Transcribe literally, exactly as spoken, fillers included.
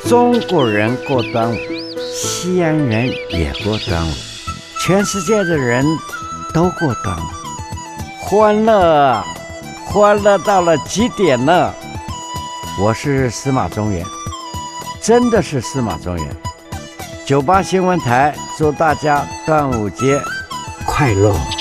中國人過端午，西安人也過端午，全世界的人都過端午，歡樂，歡樂到了極點了。我是司馬中原，真的是司馬中原。九八新聞台祝大家端午節快樂。